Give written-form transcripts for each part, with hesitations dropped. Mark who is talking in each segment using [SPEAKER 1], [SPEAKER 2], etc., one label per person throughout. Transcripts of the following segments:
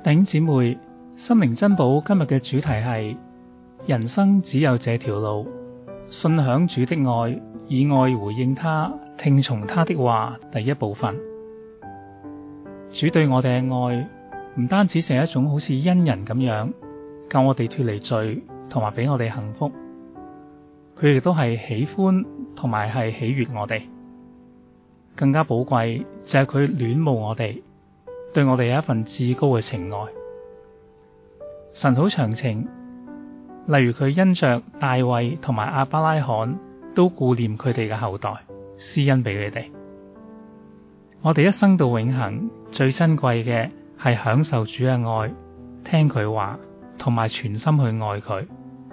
[SPEAKER 1] 弟兄姊妹，心靈珍寶今日嘅主題係人生只有這條路，信享主的愛，以愛回應他，聽從他的話。第一部分，主對我哋嘅愛唔單止係一種好似恩人咁樣救我哋脫離罪，同埋俾我哋幸福，佢亦都係喜歡同埋係喜悅我哋。更加寶貴就係佢戀慕我哋，對我哋有一份至高嘅情愛。神好長情，例如佢因着大衛同埋亞伯拉罕都顧念佢哋嘅後代，施恩俾佢哋。我哋一生到永恆，最珍貴嘅係享受主嘅愛，聽佢話，同埋全心去愛佢。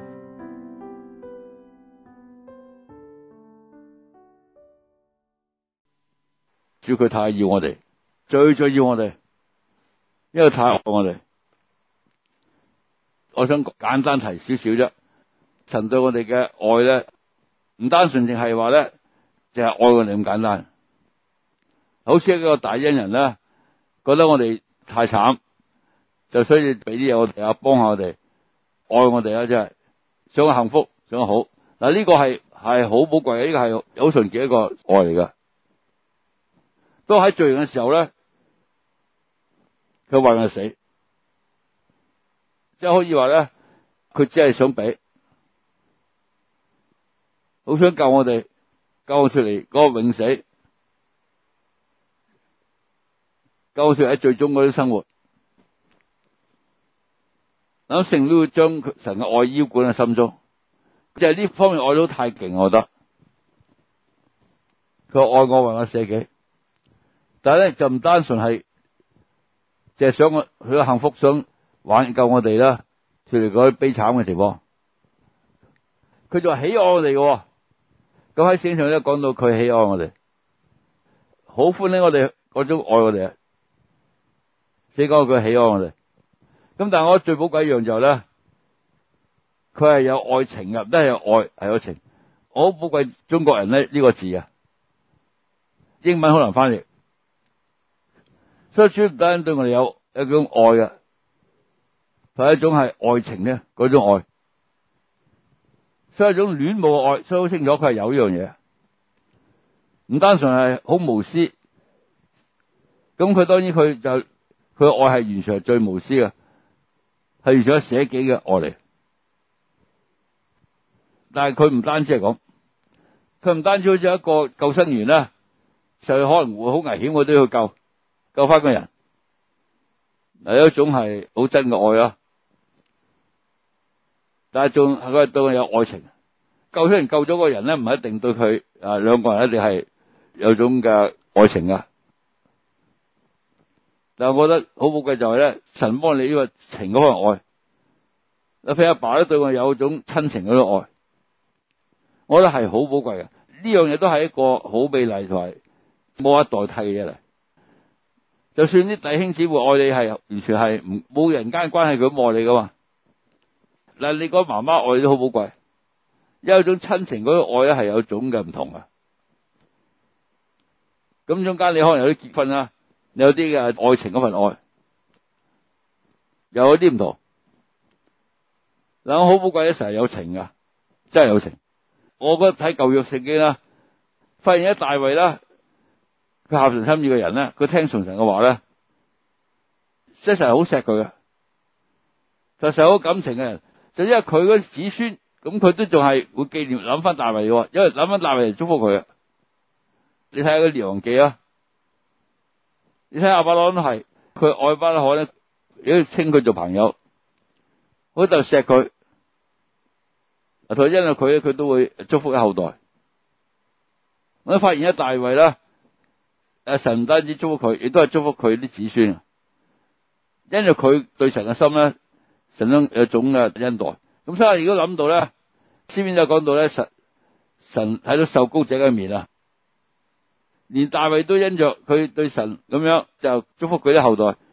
[SPEAKER 2] 主佢太要我哋，最要我哋，因為太愛我哋。我想簡單提少少啫。神對我哋嘅愛咧，唔單純淨係話咧，淨係愛我哋咁簡單。好似一個大恩人咧，覺得我哋太慘，就需要俾啲嘢我哋啊，幫下我哋，愛我哋啊，真係想幸福，想好。嗱，呢個係好寶貴嘅，呢個係好純潔一個愛嚟噶。都喺罪人嘅時候咧，佢為我死，即係可以話咧，佢只係想俾，好想救我哋，救我出嚟嗰個永死，救我出嚟喺最終嗰啲生活。咁聖都會將神嘅愛澆灌喺心中，即係呢方面愛都太勁，我覺得佢愛我為我捨己。但係咧就唔單純係，淨係想佢嘅幸福，想挽救我哋啦，脫離嗰啲悲慘嘅情況。佢就話喜愛我哋嘅，咁喺聖經上咧講到佢喜愛我哋，好歡喜我哋嗰種愛我哋啊！先講佢喜愛我哋，咁但係我覺得最寶貴一樣就係咧，佢係有愛情嘅，都係有愛，係有情。我好寶貴中國人咧呢個字啊，英文好難翻譯。所以主唔單對我哋有一種愛嘅，係一種係愛情咧嗰種愛，所以一種戀慕嘅愛，所以好清楚佢係有呢樣嘢，唔單純係好無私。咁佢當然佢嘅愛係完全係最無私嘅，係完全係捨己嘅愛嚟。但係佢唔單止係咁，佢唔單止好似一個救生員啦，就可能會好危險，我都要救翻個人，嗱，有一種係好真嘅愛啊！但係仲係佢對我有愛情，救出人救咗個人咧，唔係一定對佢兩個人一定係有種嘅愛情噶。但係我覺得好寶貴就係咧，神幫你呢個情嗰個愛，譬如阿爸咧對我有種親情嗰種愛，我覺得係好寶貴嘅。呢樣嘢都係一個好美麗同埋冇得代替嘅嘢嚟。就算啲弟兄姊妹愛你係完全係冇人間關係，佢咁愛你噶嘛？嗱，你講媽媽愛你都好寶貴，有一種親情嗰種愛咧係有種嘅唔同啊。咁中間你可能有啲結婚啦，你有啲嘅愛情嗰份愛，又有啲唔同。嗱，我好寶貴咧，成日有情噶，真係有情。我覺得睇舊約聖經啦，發現一大衛啦。佢合神心意嘅人咧，佢聽從神嘅話咧，即係神係好錫佢嘅，就神好感情嘅人，就因為佢嗰啲子孫，咁佢都仲係會紀念諗翻大衛嘅，因為諗翻大衛嚟祝福佢啊。你睇下個列王記啊，你睇亞伯拉罕都係，佢愛亞伯拉罕咧，如果稱佢做朋友，好就錫佢，同因為佢都會祝福佢後代。我都發現一大衛啦。神唔單止祝福佢，亦都係祝福佢啲子孫啊！因為佢對神嘅心咧，神都有種嘅恩待。咁所以如果諗到咧，詩篇就講到咧，神睇到受膏者嘅面啊，連大衛都因着佢對神咁樣就祝福佢啲後代。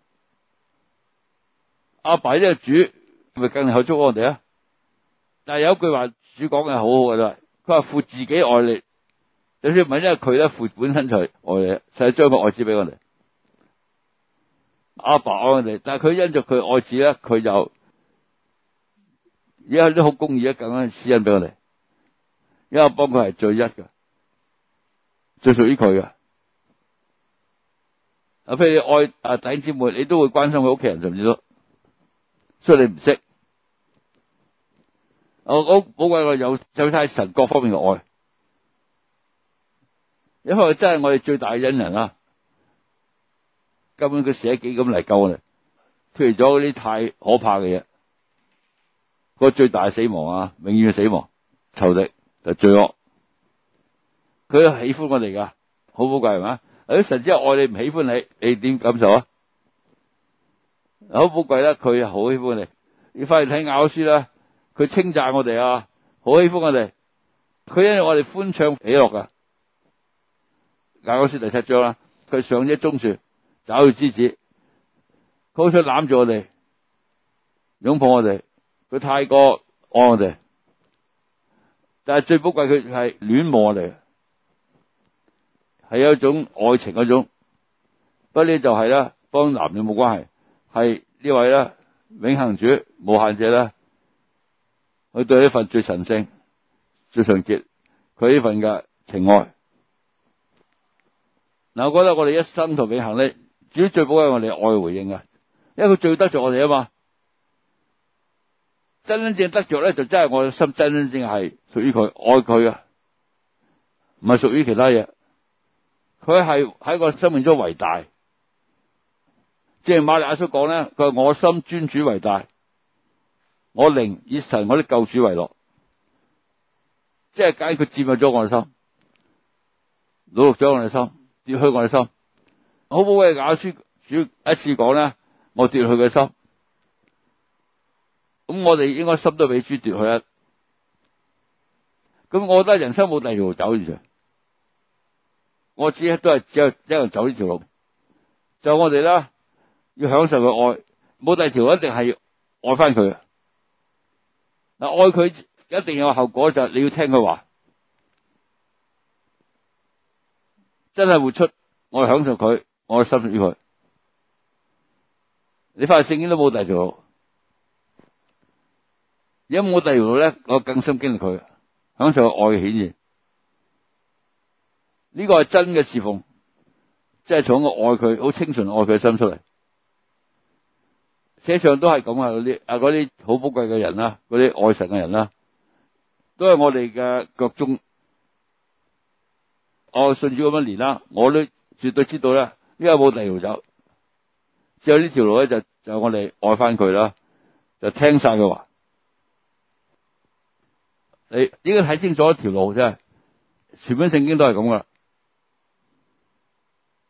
[SPEAKER 2] 阿爸呢個主咪更係祝福我哋啊！但係有一句話主講嘅好好嘅啦，佢話父自己愛你。就算唔係因為佢咧，父本身就係愛你，就係將個愛子俾我哋。 阿爸愛我哋，但係佢因着佢愛子咧，佢就而家啲好公義咁樣施恩俾我哋，因為我幫佢係最一嘅，最屬於佢嘅。啊，譬如你愛弟兄姊妹，你都會關心佢屋企人，甚至都，所以你唔識。我寶貴我有晒神各方面嘅愛，因為真係我哋最大嘅恩人啦。根本佢捨己咁嚟救我哋，脫離咗嗰啲太可怕嘅嘢，個最大嘅死亡啊，永遠嘅死亡，仇敵就罪惡。佢喜歡我哋噶，好寶貴係嘛？神只係愛你，唔喜歡你，你點感受啊？好寶貴啦，佢好喜歡你。你翻去睇雅歌書啦，佢稱讚我哋啊，好喜歡我哋，佢因為我哋歡暢喜樂噶。雅歌書第7章啦，佢上咗棕樹，找到枝子，佢好想攬住我哋，擁抱我哋，佢太過愛我哋。但係最寶貴，佢係戀慕我哋，係有一種愛情嗰種。不過呢就係啦，幫男女冇關係，係呢位啦，永恆主無限者啦，佢對呢份最神聖、最純潔，佢呢份嘅情愛。嗱，我覺得我哋一生同永恆咧，主最寶貴係我哋愛嘅回應啊，因為佢最得着我哋啊嘛。真正得着咧，就真係我嘅心真正係屬於佢，愛佢啊，唔係屬於其他嘢。佢係喺我生命中為大，即係瑪利亞所講咧，佢話我心尊主為大，我靈以神我的救主為樂，即係解佢佔有咗我嘅心，擄咗我嘅心，奪去我嘅心。好寶貴嘅雅歌書主一次講咧，我奪去佢嘅心。咁我哋應該心都俾主奪去啊！咁我覺得人生冇第二條路走住，我只係都係只有一個人走呢條路，就我哋啦，要享受佢愛，冇第二條，一定係愛翻佢。嗱，愛佢一定有後果，就係你要聽佢話，真係活出我享受佢，我心屬於佢。你翻去聖經都冇第二條路。如果冇第二條路咧，我更深經歷佢，享受愛嘅顯現。呢個係真嘅侍奉，即係從我愛佢，好清純愛佢嘅心出嚟。世上都係咁啊，嗰啲好寶貴嘅人啦，嗰啲愛神嘅人啦，都係我哋嘅腳蹤。我信主咁多年啦，我都絕對知道咧，因為冇第二條路走，只有呢條路咧，就我哋愛翻佢啦，就聽晒佢話。你應該睇清楚一條路，真係全本聖經都係咁噶。